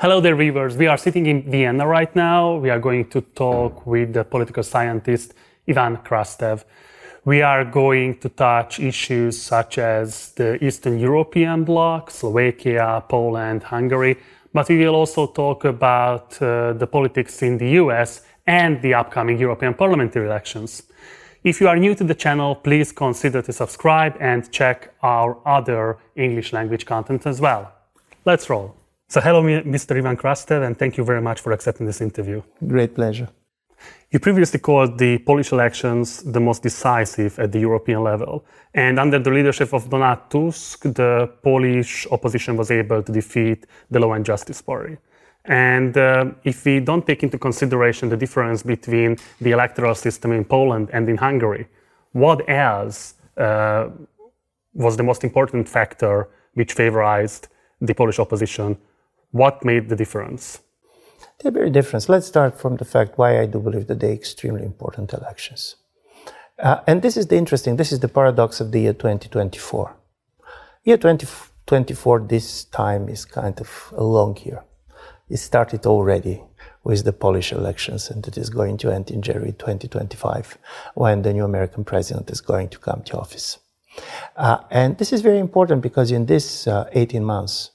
Hello there, viewers. We are sitting in Vienna right now. We are going to talk with the political scientist Ivan Krastev. We are going to touch issues such as the Eastern European bloc, Slovakia, Poland, Hungary, but we will also talk about the politics in the US and the upcoming European parliamentary elections. If you are new to the channel, please consider to subscribe and check our other English language content as well. Let's roll. So hello, Mr. Ivan Krastev, and thank you very much for accepting this interview. Great pleasure. You previously called the Polish elections the most decisive at the European level. And under the leadership of Donald Tusk, the Polish opposition was able to defeat the Law and Justice Party. And if we don't take into consideration the difference between the electoral system in Poland and in Hungary, what else was the most important factor which favorized the Polish opposition? What made the difference? They're very different. Let's start from the fact why I do believe that they're extremely important elections. And this is the paradox of the year 2024. Year 2024, this time is kind of a long year. It started already with the Polish elections, and it is going to end in January 2025, when the new American president is going to come to office. And this is very important because in this 18 months,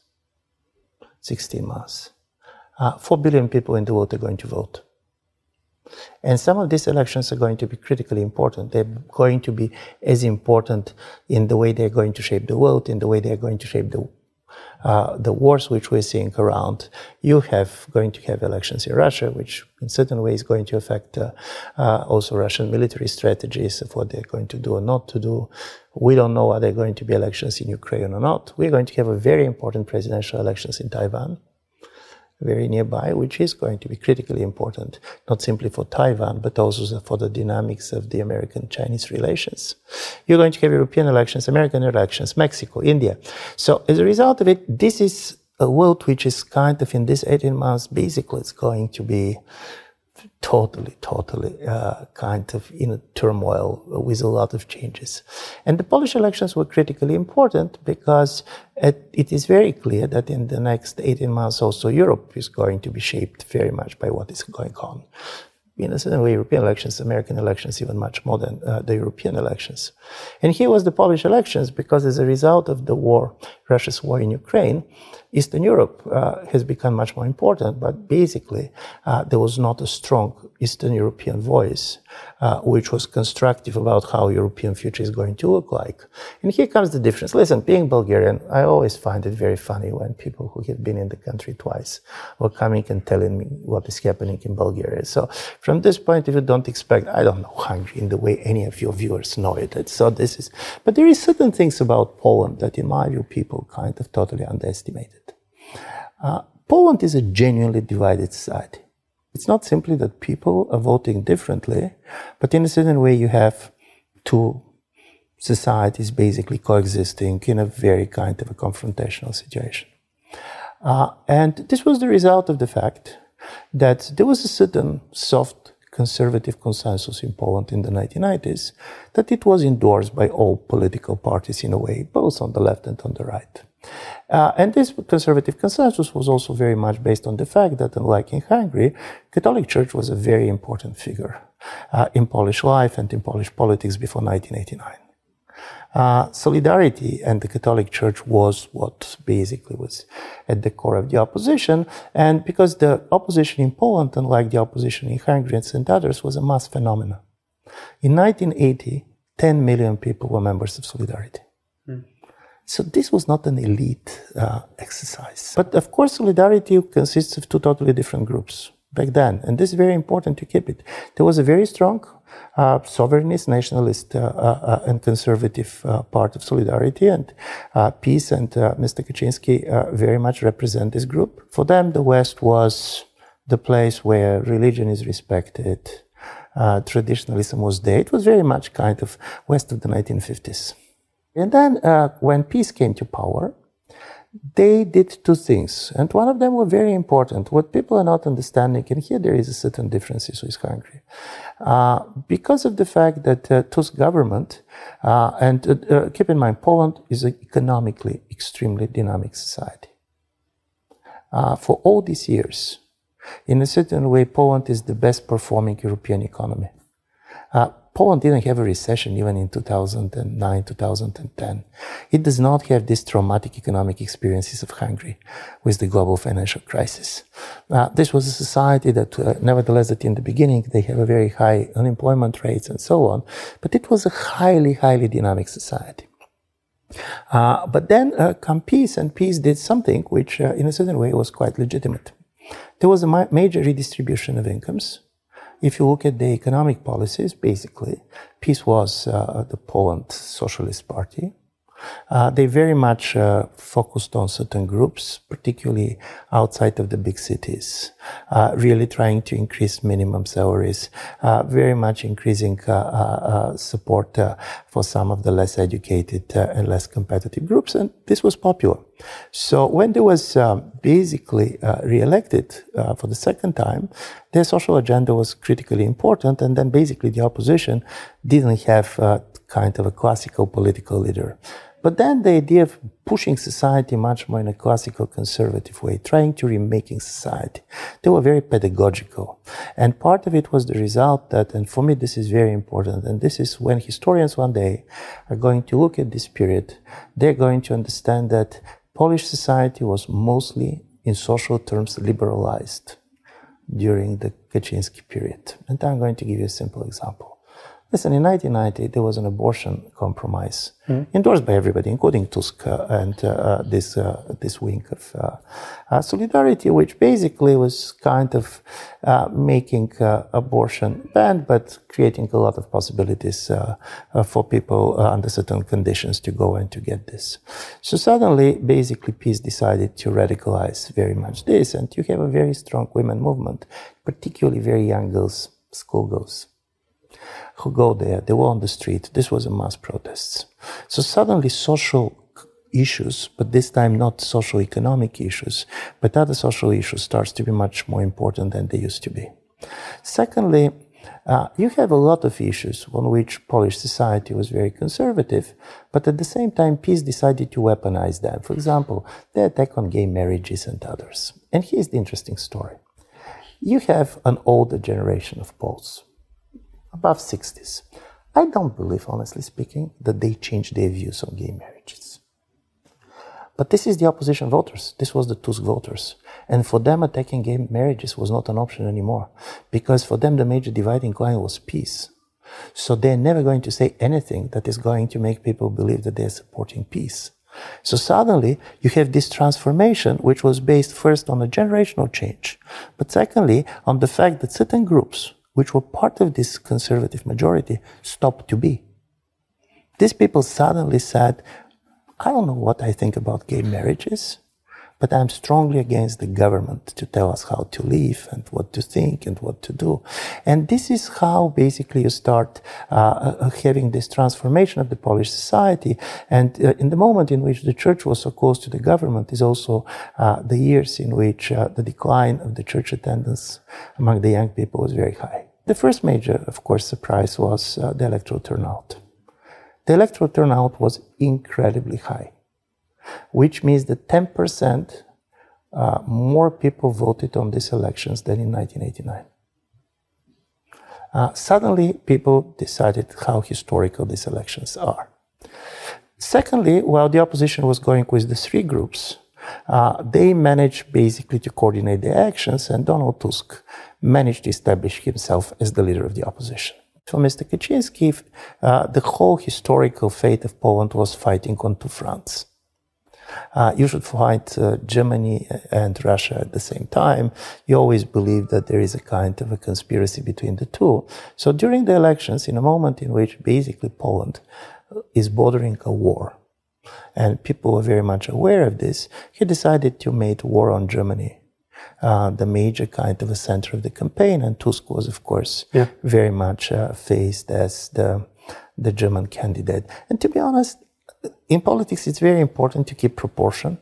16 months, 4 billion people in the world are going to vote. And some of these elections are going to be critically important. They're going to be as important in the way they're going to shape the world, in the way they're going to shape the wars which we're seeing around. You have going to have elections in Russia, which in certain ways is going to affect also Russian military strategies of what they're going to do or not to do. We don't know are there going to be elections in Ukraine or not. We're going to have a very important presidential elections in Taiwan, very nearby, which is going to be critically important, not simply for Taiwan, but also for the dynamics of the American-Chinese relations. You're going to have European elections, American elections, Mexico, India. So as a result of it, this is a world which is kind of in this 18 months, basically it's going to be totally kind of in a turmoil with a lot of changes. And the Polish elections were critically important because it is very clear that in the next 18 months also Europe is going to be shaped very much by what is going on. In a certain way, European elections, American elections, even much more than the European elections. And here was the Polish elections because as a result of the war, Russia's war in Ukraine, Eastern Europe has become much more important, but basically there was not a strong Eastern European voice which was constructive about how European future is going to look like. And here comes the difference. Listen, being Bulgarian, I always find it very funny when people who have been in the country twice were coming and telling me what is happening in Bulgaria. So from this point of view, don't expect, I don't know Hungary in the way any of your viewers know it. But there is certain things about Poland that in my view people kind of totally underestimated. Poland is a genuinely divided society. It's not simply that people are voting differently, but in a certain way you have two societies basically coexisting in a very kind of a confrontational situation. And this was the result of the fact that there was a certain soft conservative consensus in Poland in the 1990s that it was endorsed by all political parties in a way, both on the left and on the right. And this conservative consensus was also very much based on the fact that, unlike in Hungary, Catholic Church was a very important figure in Polish life and in Polish politics before 1989. Solidarity and the Catholic Church was what basically was at the core of the opposition. And because the opposition in Poland, unlike the opposition in Hungary and others, was a mass phenomenon. In 1980, 10 million people were members of Solidarity. So this was not an elite exercise. But of course, Solidarity consists of two totally different groups back then. And this is very important to keep it. There was a very strong sovereignist, nationalist and conservative part of Solidarity, and PiS and Mr. Kaczynski very much represent this group. For them, the West was the place where religion is respected, traditionalism was there. It was very much kind of West of the 1950s. And then when PiS came to power, they did two things, and one of them were very important. What people are not understanding, and here there is a certain differences with Hungary, because of the fact that Tusk government, keep in mind, Poland is an economically extremely dynamic society. For all these years, in a certain way, Poland is the best performing European economy. Poland didn't have a recession even in 2009, 2010. It does not have these traumatic economic experiences of Hungary with the global financial crisis. This was a society that, nevertheless, that in the beginning, they have a very high unemployment rates and so on, but it was a highly, highly dynamic society. But then come peace, and peace did something which, in a certain way, was quite legitimate. There was a major redistribution of incomes. If you look at the economic policies, basically, PiS was the Poland Socialist Party. They very much focused on certain groups, particularly outside of the big cities, really trying to increase minimum salaries, very much increasing support for some of the less educated and less competitive groups, and this was popular. So when they was basically re-elected for the second time, their social agenda was critically important, and then basically the opposition didn't have kind of a classical political leader. But then the idea of pushing society much more in a classical conservative way, trying to remaking society, they were very pedagogical. And part of it was the result that, and for me this is very important, and this is when historians one day are going to look at this period, they're going to understand that Polish society was mostly, in social terms, liberalized during the Kaczynski period. And I'm going to give you a simple example. Listen, in 1990, there was an abortion compromise endorsed by everybody, including Tusk and this wing of Solidarity, which basically was kind of making abortion banned, but creating a lot of possibilities for people under certain conditions to go and to get this. So suddenly, basically, PiS decided to radicalize very much this, and you have a very strong women movement, particularly very young girls, schoolgirls, who go there. They were on the street. This was a mass protests. So suddenly social issues, but this time not socio-economic issues, but other social issues starts to be much more important than they used to be. Secondly, you have a lot of issues on which Polish society was very conservative, but at the same time, PiS decided to weaponize them. For example, the attack on gay marriages and others. And here's the interesting story. You have an older generation of Poles, above 60s. I don't believe, honestly speaking, that they changed their views on gay marriages. But this is the opposition voters. This was the Tusk voters. And for them, attacking gay marriages was not an option anymore, because for them, the major dividing line was peace. So they're never going to say anything that is going to make people believe that they're supporting peace. So suddenly, you have this transformation, which was based first on a generational change, but secondly, on the fact that certain groups, which were part of this conservative majority, stopped to be. These people suddenly said, I don't know what I think about gay marriages, but I'm strongly against the government to tell us how to live and what to think and what to do. And this is how basically you start having this transformation of the Polish society. And in the moment in which the church was so close to the government is also the years in which the decline of the church attendance among the young people was very high. The first major, of course, surprise was the electoral turnout. The electoral turnout was incredibly high, which means that 10% more people voted on these elections than in 1989. Suddenly, people decided how historical these elections are. Secondly, while the opposition was going with the three groups, they managed basically to coordinate their actions, and Donald Tusk managed to establish himself as the leader of the opposition. For Mr. Kaczynski, the whole historical fate of Poland was fighting on two fronts. You should fight Germany and Russia at the same time. You always believe that there is a kind of a conspiracy between the two. So during the elections, in a moment in which basically Poland is bordering a war, and people were very much aware of this, he decided to make war on Germany the major kind of a center of the campaign, and Tusk was, of course, very much faced as the German candidate. And to be honest, in politics, it's very important to keep proportion.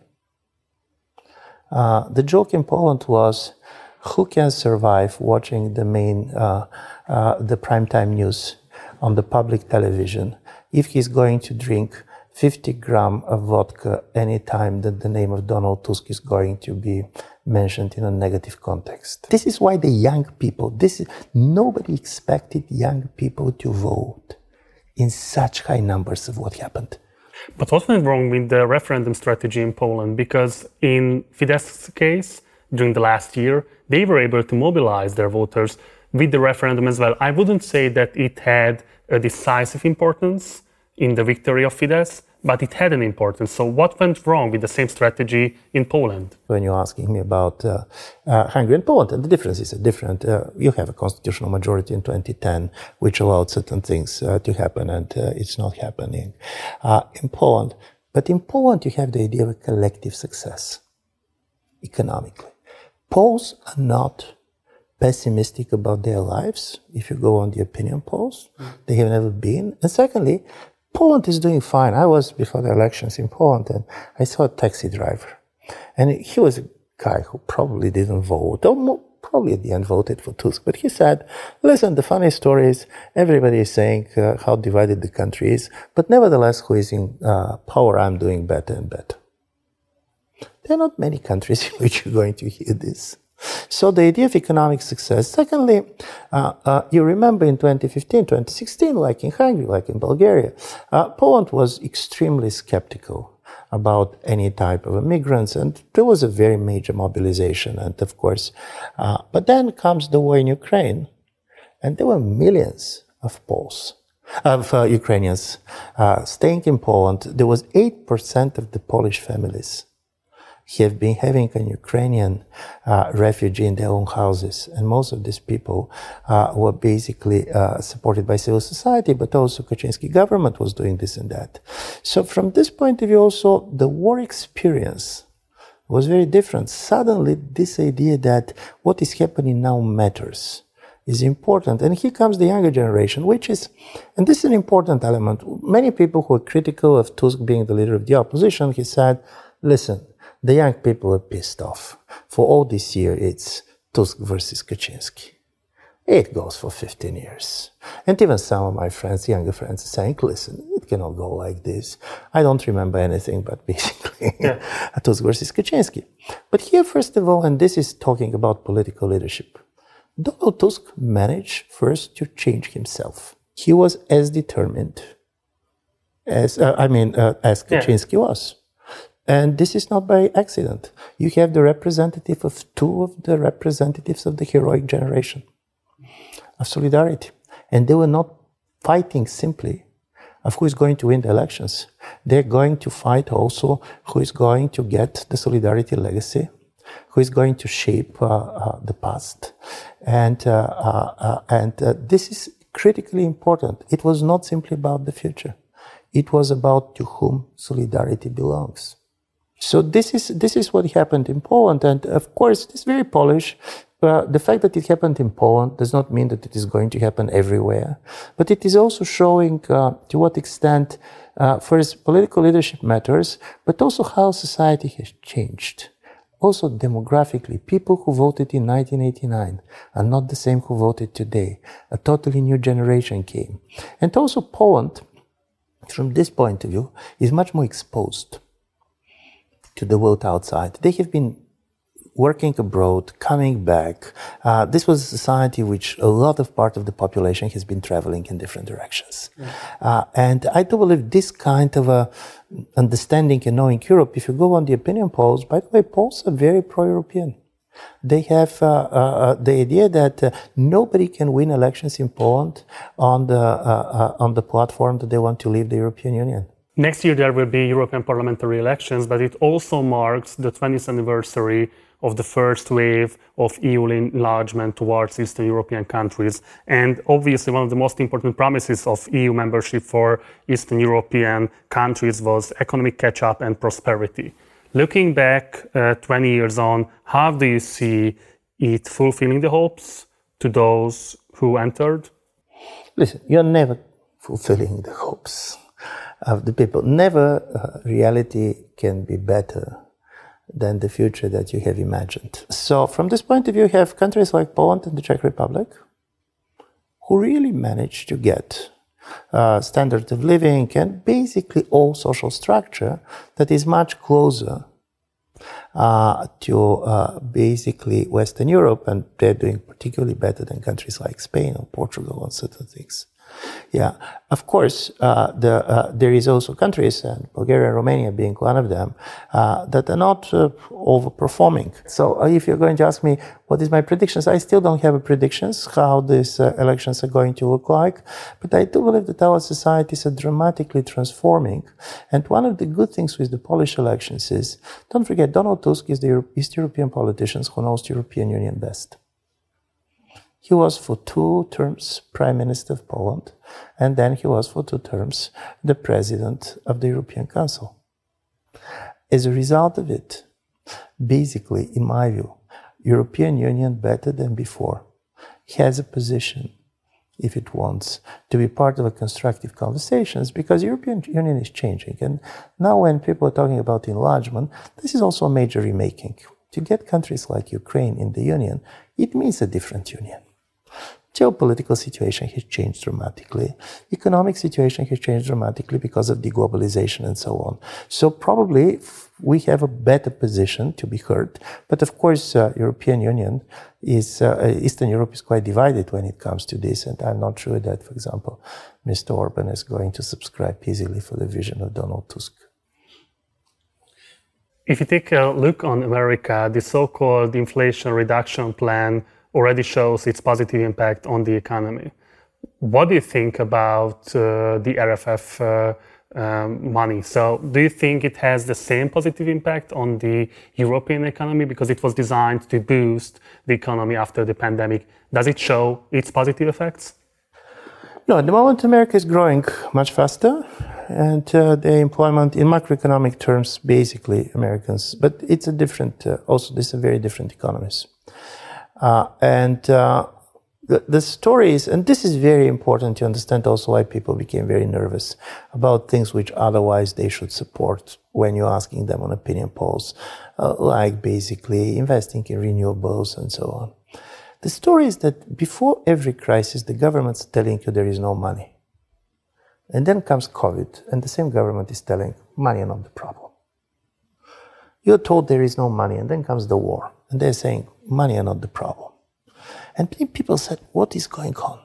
The joke in Poland was, who can survive watching the primetime news on the public television if he's going to drink 50 grams of vodka any time that the name of Donald Tusk is going to be mentioned in a negative context. This is why the young people, nobody expected young people to vote in such high numbers of what happened. But what went wrong with the referendum strategy in Poland? Because in Fidesz's case, during the last year, they were able to mobilize their voters with the referendum as well. I wouldn't say that it had a decisive importance in the victory of Fidesz, but it had an importance. So what went wrong with the same strategy in Poland? When you're asking me about Hungary and Poland, and the differences are different. You have a constitutional majority in 2010, which allowed certain things to happen, and it's not happening in Poland. But in Poland, you have the idea of a collective success economically. Poles are not pessimistic about their lives. If you go on the opinion polls, they have never been. And secondly, Poland is doing fine. I was before the elections in Poland, and I saw a taxi driver. And he was a guy who probably didn't vote, or probably at the end voted for Tusk. But he said, listen, the funny story is everybody is saying how divided the country is, but nevertheless, who is in power, I'm doing better and better. There are not many countries in which you're going to hear this. So the idea of economic success. Secondly, you remember in 2015, 2016, like in Hungary, like in Bulgaria, Poland was extremely skeptical about any type of immigrants, and there was a very major mobilization. And of course, but then comes the war in Ukraine, and there were millions of Poles, of Ukrainians staying in Poland. There was 8% of the Polish families have been having an Ukrainian refugee in their own houses. And most of these people were basically supported by civil society, but also Kaczynski government was doing this and that. So from this point of view also, the war experience was very different. Suddenly, this idea that what is happening now matters is important. And here comes the younger generation, which is, and this is an important element. Many people who are critical of Tusk being the leader of the opposition, he said, listen, the young people are pissed off. For all this year, it's Tusk versus Kaczynski. It goes for 15 years. And even some of my friends, younger friends, are saying, listen, it cannot go like this. I don't remember anything but basically Tusk versus Kaczynski. But here, first of all, and this is talking about political leadership, Donald Tusk managed first to change himself. He was as determined as Kaczynski was. And this is not by accident. You have the representative of two of the representatives of the heroic generation of Solidarity. And they were not fighting simply of who is going to win the elections. They're going to fight also who is going to get the Solidarity legacy, who is going to shape the past. And this is critically important. It was not simply about the future. It was about to whom Solidarity belongs. So this is what happened in Poland, and of course it's very Polish. The fact that it happened in Poland does not mean that it is going to happen everywhere, but it is also showing to what extent first political leadership matters, but also how society has changed. Also demographically, people who voted in 1989 are not the same who voted today. A totally new generation came. And also Poland, from this point of view, is much more exposed to the world outside. They have been working abroad, coming back. This was a society which a lot of part of the population has been traveling in different directions. And I do believe this kind of a understanding and knowing Europe, if you go on the opinion polls, by the way, Poles are very pro-European. They have the idea that nobody can win elections in Poland on the platform that they want to leave the European Union. Next year there will be European parliamentary elections, but it also marks the 20th anniversary of the first wave of EU enlargement towards Eastern European countries. And obviously one of the most important promises of EU membership for Eastern European countries was economic catch-up and prosperity. Looking back 20 years on, how do you see it fulfilling the hopes to those who entered? Listen, you're never fulfilling the hopes of the people. Never reality can be better than the future that you have imagined. So from this point of view, you have countries like Poland and the Czech Republic who really managed to get standard of living and basically all social structure that is much closer to basically Western Europe, and they're doing particularly better than countries like Spain or Portugal on certain things. Yeah, of course, there is also countries, and Bulgaria and Romania being one of them, that are not overperforming. So if you're going to ask me, what is my predictions? I still don't have predictions how these elections are going to look like, but I do believe that our societies are dramatically transforming. And one of the good things with the Polish elections is, don't forget, Donald Tusk is the East European politician who knows the European Union best. He was for 2 terms Prime Minister of Poland, and then he was for 2 terms the President of the European Council. As a result of it, basically, in my view, European Union, better than before, has a position, if it wants, to be part of a constructive conversations, because European Union is changing. And now when people are talking about enlargement, this is also a major remaking. To get countries like Ukraine in the Union, it means a different union. Geopolitical situation has changed dramatically. Economic situation has changed dramatically because of deglobalization and so on. So probably we have a better position to be heard. But of course, European Union is, Eastern Europe is quite divided when it comes to this. And I'm not sure that, for example, Mr. Orban is going to subscribe easily for the vision of Donald Tusk. If you take a look on America, the so-called Inflation Reduction Plan already shows its positive impact on the economy. What do you think about the RFF money? So do you think it has the same positive impact on the European economy because it was designed to boost the economy after the pandemic? Does it show its positive effects? No, at the moment America is growing much faster, and the employment in macroeconomic terms, basically Americans, but it's a different, also these are very different economies. The story is, and this is very important to understand also why people became very nervous about things which otherwise they should support when you're asking them on opinion polls, like basically investing in renewables and so on. The story is that before every crisis, the government's telling you there is no money. And then comes COVID, and the same government is telling money is not the problem. You're told there is no money, and then comes the war, and they're saying money is not the problem. And people said, what is going on?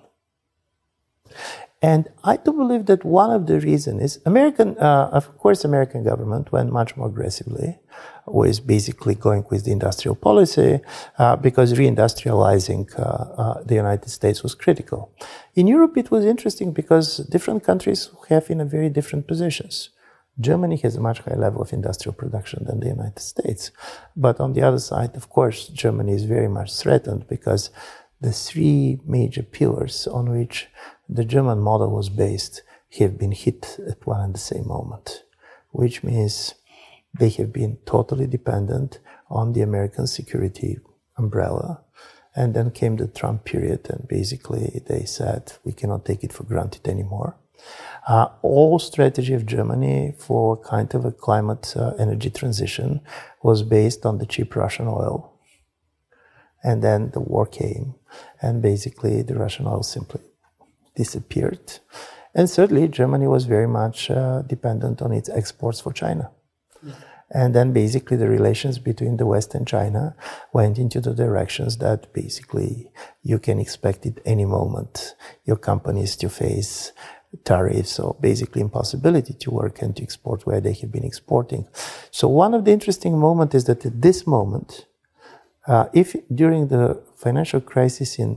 And I do believe that one of the reasons is American government went much more aggressively, was basically going with the industrial policy because reindustrializing the United States was critical. In Europe, it was interesting because different countries have in a very different positions. Germany has a much higher level of industrial production than the United States. But on the other side, of course, Germany is very much threatened because the 3 major pillars on which the German model was based have been hit at one and the same moment, which means they have been totally dependent on the American security umbrella. And then came the Trump period, and basically they said, we cannot take it for granted anymore. All strategy of Germany for kind of a climate energy transition was based on the cheap Russian oil. And then the war came, and basically the Russian oil simply disappeared. And certainly Germany was very much dependent on its exports for China. Yeah. And then basically the relations between the West and China went into the directions that basically you can expect at any moment your companies to face tariffs or basically impossibility to work and to export where they have been exporting. So one of the interesting moments is that at this moment, if during the financial crisis in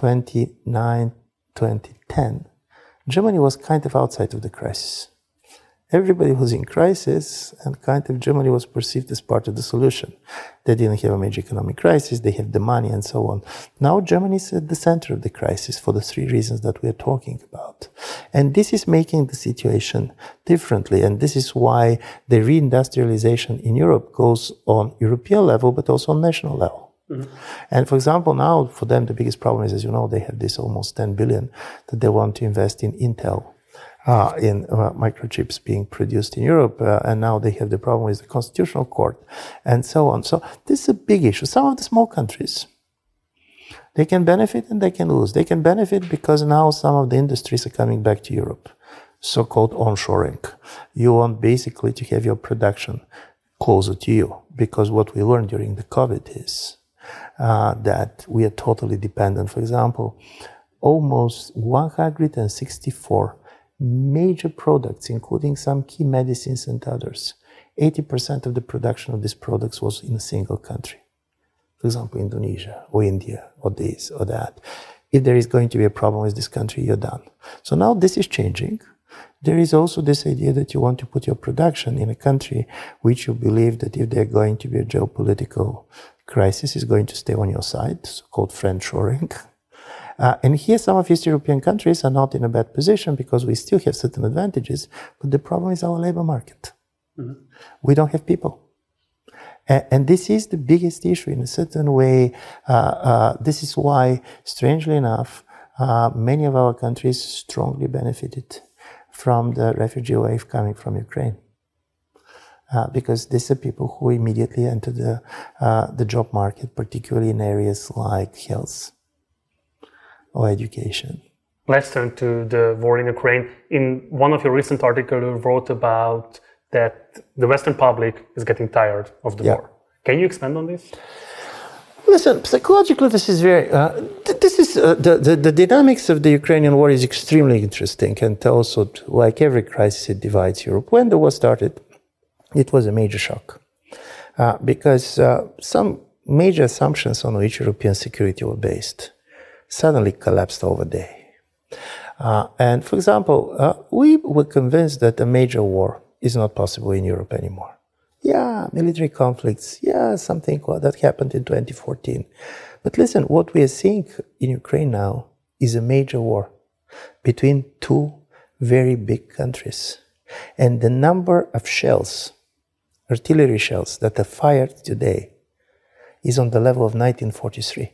2009, 2010, Germany was kind of outside of the crisis. Everybody was in crisis, and kind of Germany was perceived as part of the solution. They didn't have a major economic crisis, they have the money and so on. Now Germany is at the center of the crisis for the 3 reasons that we are talking about. And this is making the situation differently, and this is why the reindustrialization in Europe goes on European level, but also on national level. Mm-hmm. And for example, now for them the biggest problem is, as you know, they have this almost 10 billion that they want to invest in Intel. In microchips being produced in Europe, and now they have the problem with the Constitutional Court, and so on. So this is a big issue. Some of the small countries, they can benefit and they can lose. They can benefit because now some of the industries are coming back to Europe, so-called onshoring. You want basically to have your production closer to you, because what we learned during the COVID is that we are totally dependent. For example, almost 164 major products, including some key medicines and others, 80% of the production of these products was in a single country. For example, Indonesia or India or this or that. If there is going to be a problem with this country, you're done. So now this is changing. There is also this idea that you want to put your production in a country which you believe that if there's going to be a geopolitical crisis, is going to stay on your side, so-called friendshoring. And here some of East European countries are not in a bad position because we still have certain advantages, but the problem is our labor market. Mm-hmm. We don't have people. And this is the biggest issue in a certain way. This is why, strangely enough, many of our countries strongly benefited from the refugee wave coming from Ukraine. Because these are people who immediately entered the job market, particularly in areas like health or education. Let's turn to the war in Ukraine. In one of your recent articles, you wrote about that the Western public is getting tired of the war. Can you expand on this? Listen, psychologically, this is very. The dynamics of the Ukrainian war is extremely interesting, and also, like every crisis, it divides Europe. When the war started, it was a major shock because some major assumptions on which European security were based suddenly collapsed overday. And for example, we were convinced that a major war is not possible in Europe anymore. Yeah, military conflicts, something that happened in 2014. But listen, what we are seeing in Ukraine now is a major war between two very big countries. And the number of shells, artillery shells, that are fired today is on the level of 1943.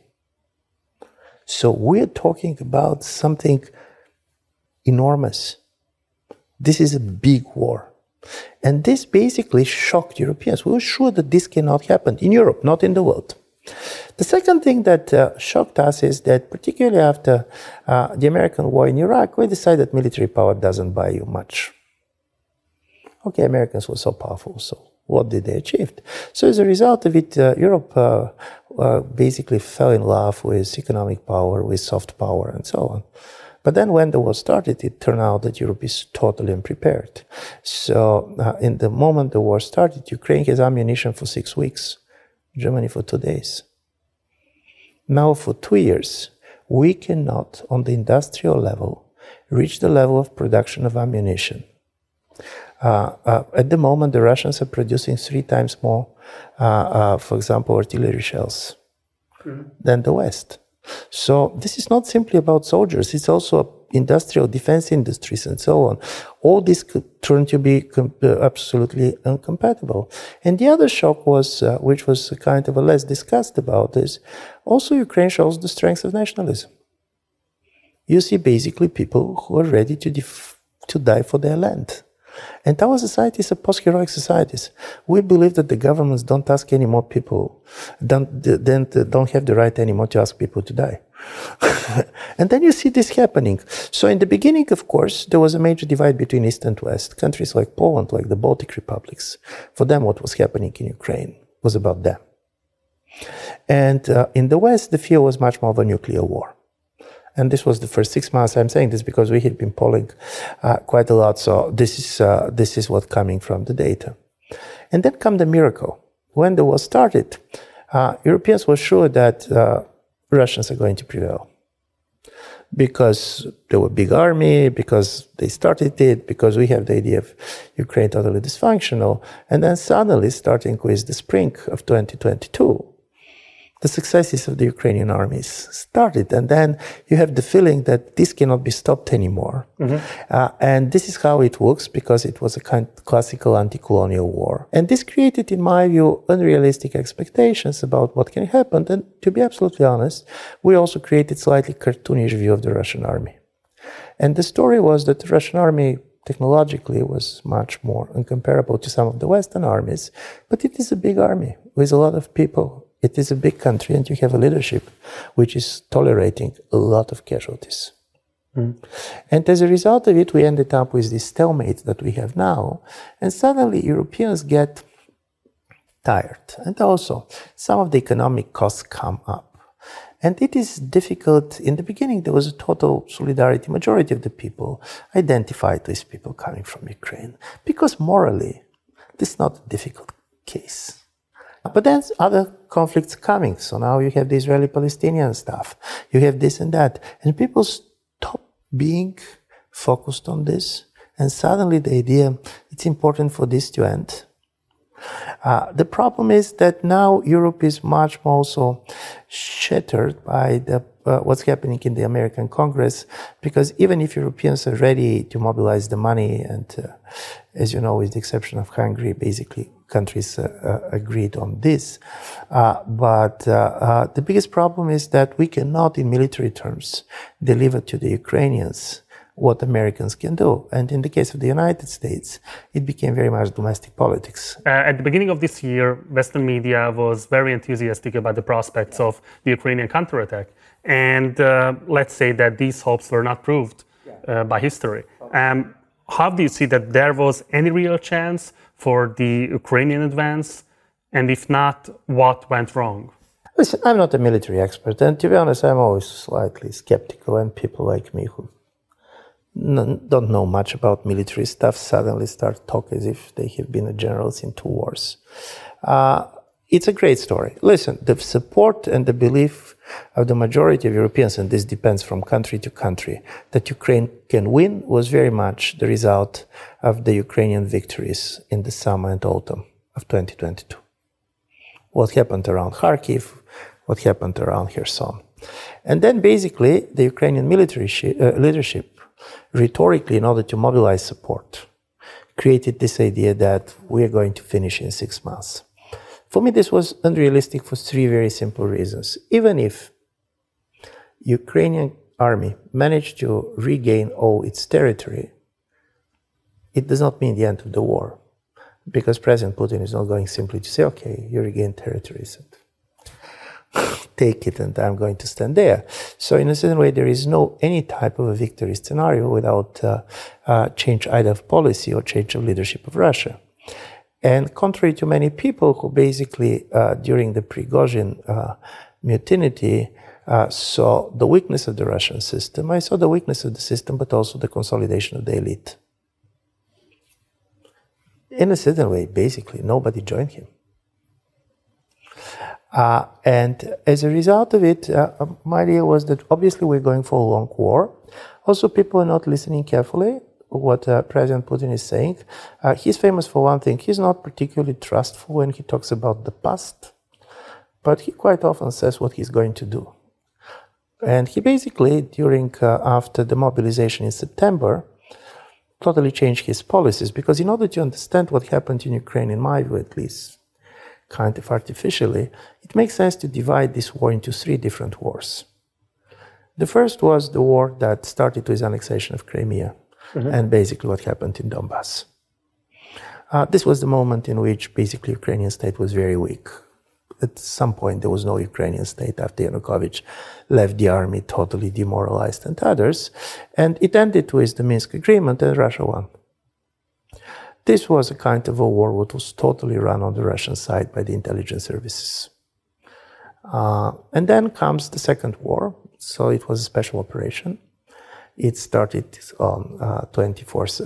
So we're talking about something enormous. This is a big war. And this basically shocked Europeans. We were sure that this cannot happen in Europe, not in the world. The second thing that shocked us is that, particularly after the American war in Iraq, we decided military power doesn't buy you much. Okay, Americans were so powerful, so what did they achieve? So as a result of it, Europe basically fell in love with economic power, with soft power, and so on. But then when the war started, it turned out that Europe is totally unprepared. So in the moment the war started, Ukraine has ammunition for 6 weeks, Germany for 2 days. Now for 2 years, we cannot, on the industrial level, reach the level of production of ammunition. At the moment, the Russians are producing 3 times more, for example, artillery shells than the West. So this is not simply about soldiers, it's also industrial defense industries and so on. All this could turn to be absolutely incompatible. And the other shock was, which was kind of a less discussed about, is also Ukraine shows the strength of nationalism. You see basically people who are ready to die for their land. And our societies are post-heroic societies. We believe that the governments don't ask any more people, don't have the right anymore to ask people to die. And then you see this happening. So in the beginning, of course, there was a major divide between East and West. Countries like Poland, like the Baltic republics, for them what was happening in Ukraine was about them. And in the West, the fear was much more of a nuclear war. And this was the first 6 months. I'm saying this because we had been polling quite a lot. So this is what's coming from the data. And then come the miracle. When the war started, Europeans were sure that Russians are going to prevail. Because they were a big army, because they started it, because we have the idea of Ukraine totally dysfunctional. And then suddenly, starting with the spring of 2022, the successes of the Ukrainian armies started. And then you have the feeling that this cannot be stopped anymore. And this is how it works, because it was a kind of classical anti-colonial war. And this created, in my view, unrealistic expectations about what can happen. And to be absolutely honest, we also created slightly cartoonish view of the Russian army. And the story was that the Russian army technologically was much more incomparable to some of the Western armies. But it is a big army with a lot of people. It is a big country, and you have a leadership which is tolerating a lot of casualties. And as a result of it, we ended up with this stalemate that we have now. And suddenly Europeans get tired. And also, some of the economic costs come up. And it is difficult. In the beginning, there was a total solidarity. Majority of the people identified with people coming from Ukraine because morally, this is not a difficult case. But then other conflicts coming. So now you have the Israeli-Palestinian stuff. You have this and that. And people stop being focused on this. And suddenly the idea, it's important for this to end. The problem is that now Europe is much more so shattered by what's happening in the American Congress, because even if Europeans are ready to mobilize the money, and as you know, with the exception of Hungary, basically countries agreed on this. But the biggest problem is that we cannot, in military terms, deliver to the Ukrainians what Americans can do. And in the case of the United States, it became very much domestic politics. At the beginning of this year, Western media was very enthusiastic about the prospects of the Ukrainian counterattack. And let's say that these hopes were not proved by history. How do you see that there was any real chance for the Ukrainian advance? And if not, what went wrong? Listen, I'm not a military expert. And to be honest, I'm always slightly skeptical when people like me who don't know much about military stuff suddenly start talking as if they have been generals in 2 wars. It's a great story. Listen, the support and the belief of the majority of Europeans, and this depends from country to country, that Ukraine can win was very much the result of the Ukrainian victories in the summer and autumn of 2022. What happened around Kharkiv, what happened around Kherson. And then basically the Ukrainian military leadership, rhetorically, in order to mobilize support, created this idea that we are going to finish in 6 months. For me, this was unrealistic for 3 very simple reasons. Even if Ukrainian army managed to regain all its territory, it does not mean the end of the war, because President Putin is not going simply to say, okay, you regain territories, and take it and I'm going to stand there. So in a certain way, there is no any type of a victory scenario without change either of policy or change of leadership of Russia. And contrary to many people who basically during the Prigozhin mutiny saw the weakness of the Russian system, I saw the weakness of the system, but also the consolidation of the elite. In a certain way, basically, nobody joined him. And as a result of it, my idea was that obviously we're going for a long war. Also, people are not listening carefully what President Putin is saying. He's famous for one thing. He's not particularly trustful when he talks about the past, but he quite often says what he's going to do. And he basically, after the mobilization in September, totally changed his policies, because in order to understand what happened in Ukraine, in my view at least, kind of artificially, it makes sense to divide this war into 3 different wars. The first was the war that started with annexation of Crimea, and basically what happened in Donbass. This was the moment in which basically Ukrainian state was very weak. At some point there was no Ukrainian state after Yanukovych left the army totally demoralized and others, and it ended with the Minsk agreement and Russia won. This was a kind of a war that was totally run on the Russian side by the intelligence services. And then comes the second war. So it was a special operation. It started on 24th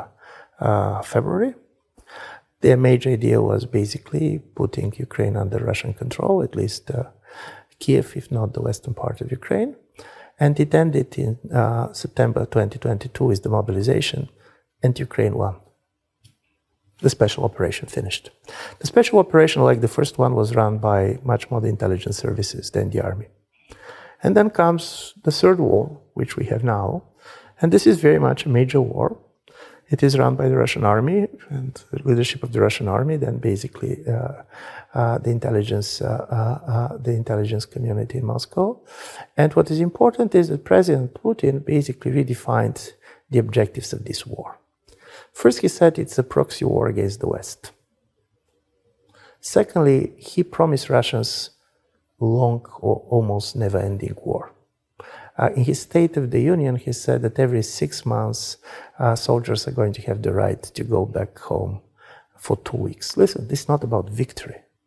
of February. Their major idea was basically putting Ukraine under Russian control, at least Kiev, if not the western part of Ukraine. And it ended in September 2022 with the mobilization, and Ukraine won. The special operation finished. The special operation, like the first one, was run by much more the intelligence services than the army. And then comes the third war, which we have now. And this is very much a major war. It is run by the Russian army and the leadership of the Russian army, then basically the intelligence community in Moscow. And what is important is that President Putin basically redefined the objectives of this war. First, he said it's a proxy war against the West. Secondly, he promised Russians long or almost never-ending war. In his State of the Union, he said that every 6 months, soldiers are going to have the right to go back home for 2 weeks. Listen, this is not about victory.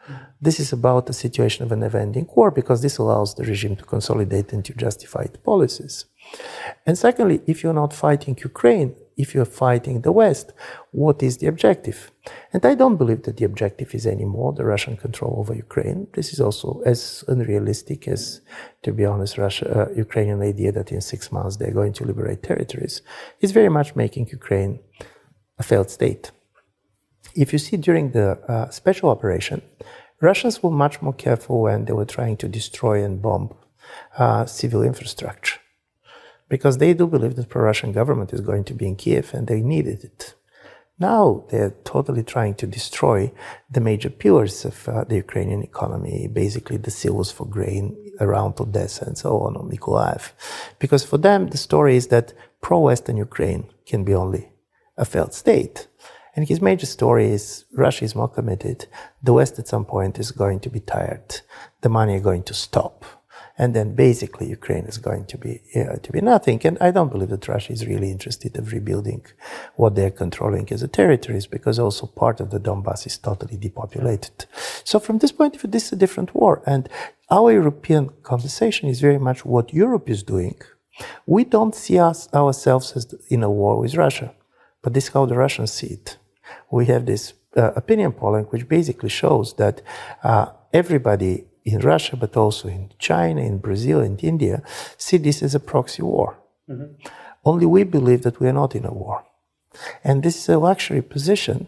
This is about the situation of a never-ending war because this allows the regime to consolidate and to justify its policies. And secondly, if you're not fighting Ukraine, if you're fighting the West, what is the objective? And I don't believe that the objective is anymore the Russian control over Ukraine. This is also as unrealistic as, to be honest, Ukrainian idea that in 6 months they're going to liberate territories. It's very much making Ukraine a failed state. If you see during the special operation, Russians were much more careful when they were trying to destroy and bomb civil infrastructure, because they do believe that the pro-Russian government is going to be in Kiev and they needed it. Now they're totally trying to destroy the major pillars of the Ukrainian economy, basically the silos for grain around Odessa and so on, or Mykolaiv. Because for them, the story is that pro-Western Ukraine can be only a failed state. And his major story is Russia is more committed, the West at some point is going to be tired, the money is going to stop, and then basically Ukraine is going to be nothing. And I don't believe that Russia is really interested in rebuilding what they're controlling as a territories, because also part of the Donbass is totally depopulated. So from this point of view, this is a different war. And our European conversation is very much what Europe is doing. We don't see ourselves as in a war with Russia, but this is how the Russians see it. We have this opinion polling which basically shows that everybody in Russia, but also in China, in Brazil, and India, see this as a proxy war. Mm-hmm. Only we believe that we are not in a war. And this is a luxury position,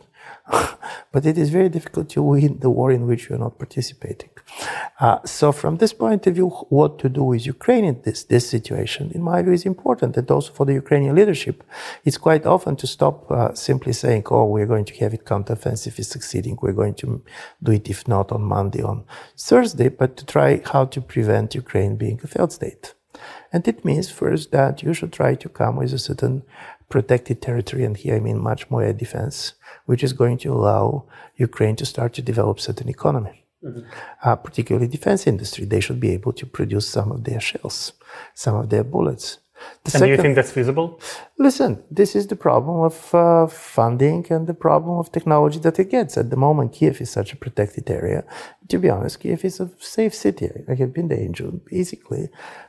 but it is very difficult to win the war in which you are not participating. So from this point of view, what to do with Ukraine in this situation, in my view, is important. And also for the Ukrainian leadership, it's quite often to stop simply saying, oh, we're going to have it counteroffensive is succeeding. We're going to do it, if not on Monday, on Thursday, but to try how to prevent Ukraine being a failed state. And it means first that you should try to come with a certain protected territory, and here I mean much more air defense, which is going to allow Ukraine to start to develop certain economy. Mm-hmm. Particularly defense industry. They should be able to produce some of their shells, some of their bullets. Do you think that's feasible? Listen, this is the problem of funding and the problem of technology that it gets. At the moment, Kiev is such a protected area. To be honest, Kiev is a safe city. I have been there in June. Basically,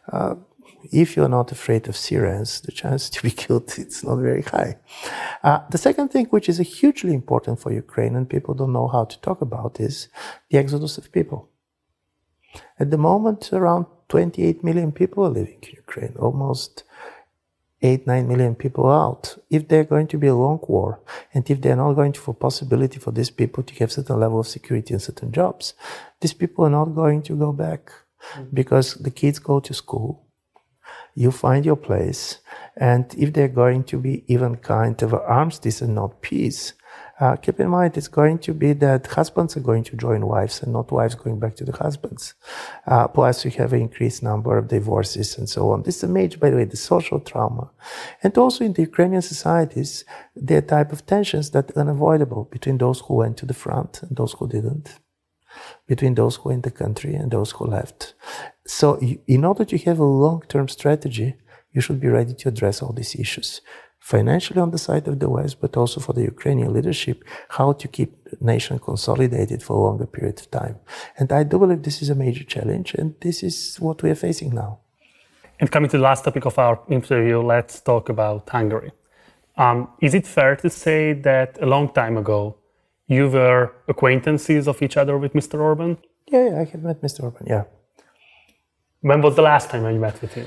if you're not afraid of Syrians, the chance to be killed, it's not very high. The second thing, which is hugely important for Ukraine and people don't know how to talk about, is the exodus of people. At the moment, around 28 million people are living in Ukraine, almost 8-9 million people out. If they're going to be a long war, and if they're not going to have possibility for these people to have certain level of security and certain jobs, these people are not going to go back, because the kids go to school. You find your place, and if they're going to be even kind of armistice and not peace, keep in mind it's going to be that husbands are going to join wives and not wives going back to the husbands. Plus you have an increased number of divorces and so on. This is a major, by the way, the social trauma. And also in the Ukrainian societies, there are type of tensions that are unavoidable between those who went to the front and those who didn't, between those who were in the country and those who left. So in order to have a long-term strategy, you should be ready to address all these issues. Financially on the side of the West, but also for the Ukrainian leadership, how to keep the nation consolidated for a longer period of time. And I do believe this is a major challenge, and this is what we are facing now. And coming to the last topic of our interview, let's talk about Hungary. Is it fair to say that a long time ago, you were acquaintances of each other with Mr. Orban? Yeah, I have met Mr. Orban, yeah. When was the last time you met with him?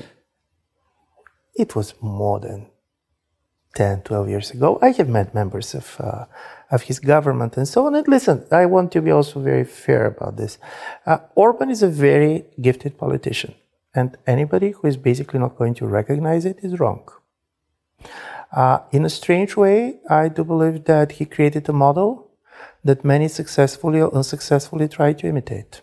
It was more than 10, 12 years ago. I have met members of his government and so on. And listen, I want to be also very fair about this. Orban is a very gifted politician, and anybody who is basically not going to recognize it is wrong. In a strange way, I do believe that he created a model that many successfully or unsuccessfully try to imitate.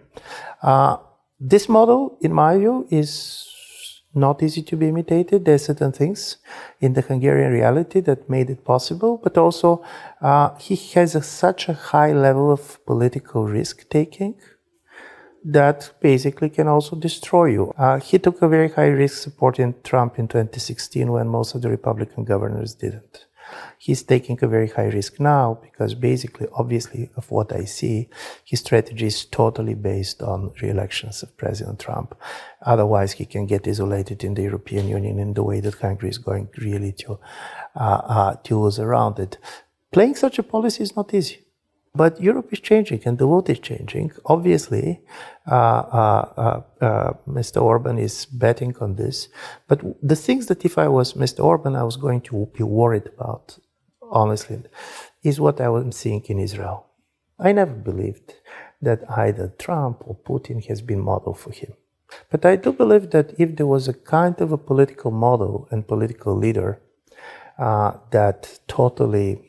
This model, in my view, is not easy to be imitated. There are certain things in the Hungarian reality that made it possible, but also he has such a high level of political risk-taking that basically can also destroy you. He took a very high risk supporting Trump in 2016 when most of the Republican governors didn't. He's taking a very high risk now because basically, obviously, of what I see, his strategy is totally based on re-elections of President Trump. Otherwise, he can get isolated in the European Union in the way that Hungary is going really to lose around it. Playing such a policy is not easy. But Europe is changing and the world is changing. Obviously, Mr. Orban is betting on this. But the things that if I was Mr. Orban, I was going to be worried about, honestly, is what I was seeing in Israel. I never believed that either Trump or Putin has been model for him. But I do believe that if there was a kind of a political model and political leader that totally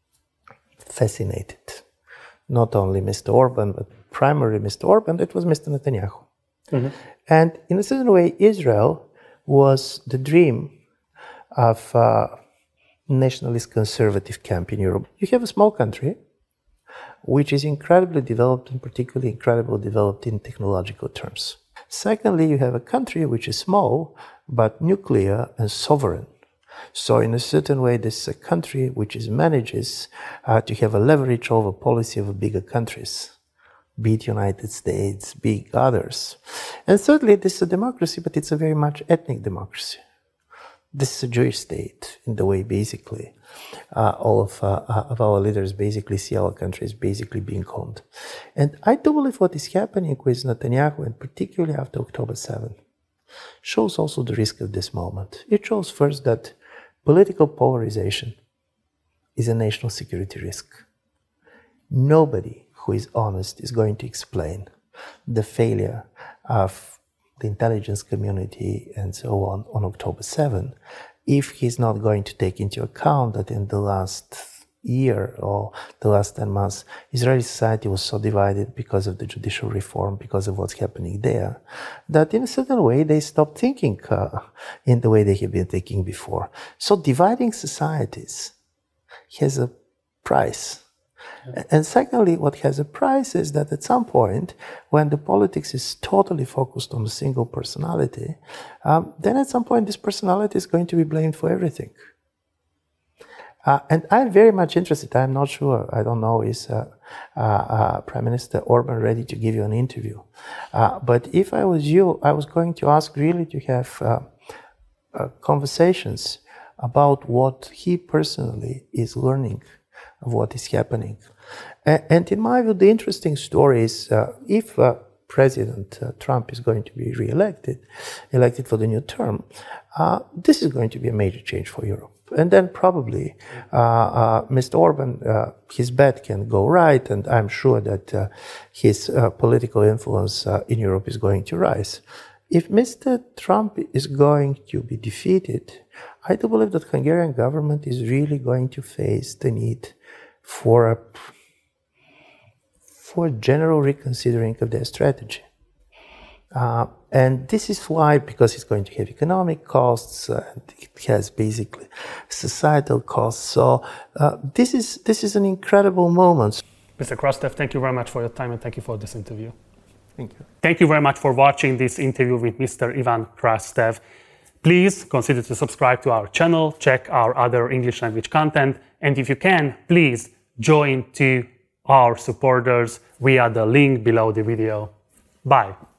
fascinated not only Mr. Orban, but primarily Mr. Orban, it was Mr. Netanyahu. Mm-hmm. And in a certain way, Israel was the dream of nationalist conservative camp in Europe. You have a small country, which is incredibly developed and particularly incredibly developed in technological terms. Secondly, you have a country which is small, but nuclear and sovereign. So in a certain way, this is a country which manages to have a leverage over policy of bigger countries, be it United States, be it others. And thirdly, this is a democracy, but it's a very much ethnic democracy. This is a Jewish state in the way basically all of our leaders basically see our country as basically being owned. And I do believe what is happening with Netanyahu, and particularly after October 7, shows also the risk of this moment. It shows first that political polarization is a national security risk. Nobody who is honest is going to explain the failure of the intelligence community and so on October 7 if he's not going to take into account that in the last year or the last 10 months, Israeli society was so divided because of the judicial reform, because of what's happening there, that in a certain way they stopped thinking in the way they have been thinking before. So dividing societies has a price. And secondly, what has a price is that at some point, when the politics is totally focused on a single personality, then at some point this personality is going to be blamed for everything. And I'm very much interested, I'm not sure, I don't know, is Prime Minister Orban ready to give you an interview? But if I was you, I was going to ask really to have conversations about what he personally is learning of what is happening. And in my view, the interesting story is if President Trump is going to be elected for the new term, this is going to be a major change for Europe. And then probably Mr. Orban, his bet can go right, and I'm sure that his political influence in Europe is going to rise. If Mr. Trump is going to be defeated, I do believe that Hungarian government is really going to face the need for a general reconsidering of their strategy. And this is why, because it's going to have economic costs, and it has basically societal costs. So this is an incredible moment. Mr. Krastev, thank you very much for your time and thank you for this interview. Thank you. Thank you very much for watching this interview with Mr. Ivan Krastev. Please consider to subscribe to our channel, check our other English language content, and if you can, please join to our supporters via the link below the video. Bye.